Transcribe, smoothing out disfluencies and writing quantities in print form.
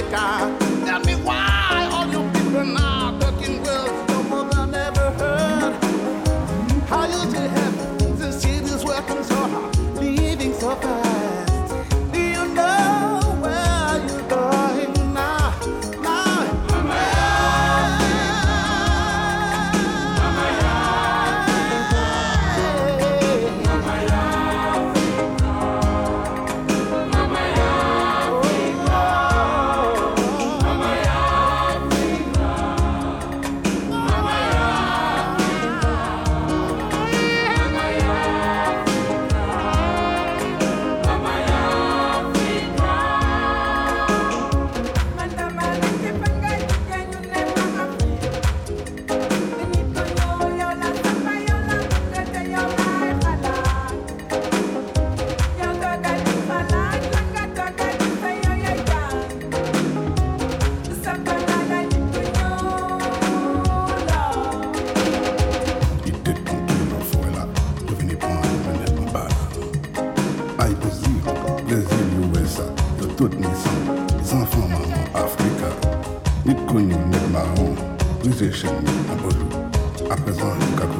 Africa. Tell me why all you people now talking words no more than ever heard. How you still have the cities working so hard, living so fast. Do you know where you're going now? Now, toutes naissances, les enfants maman Africa. Ni connu, ni marron, nous échec, ni en bolou. À présent, le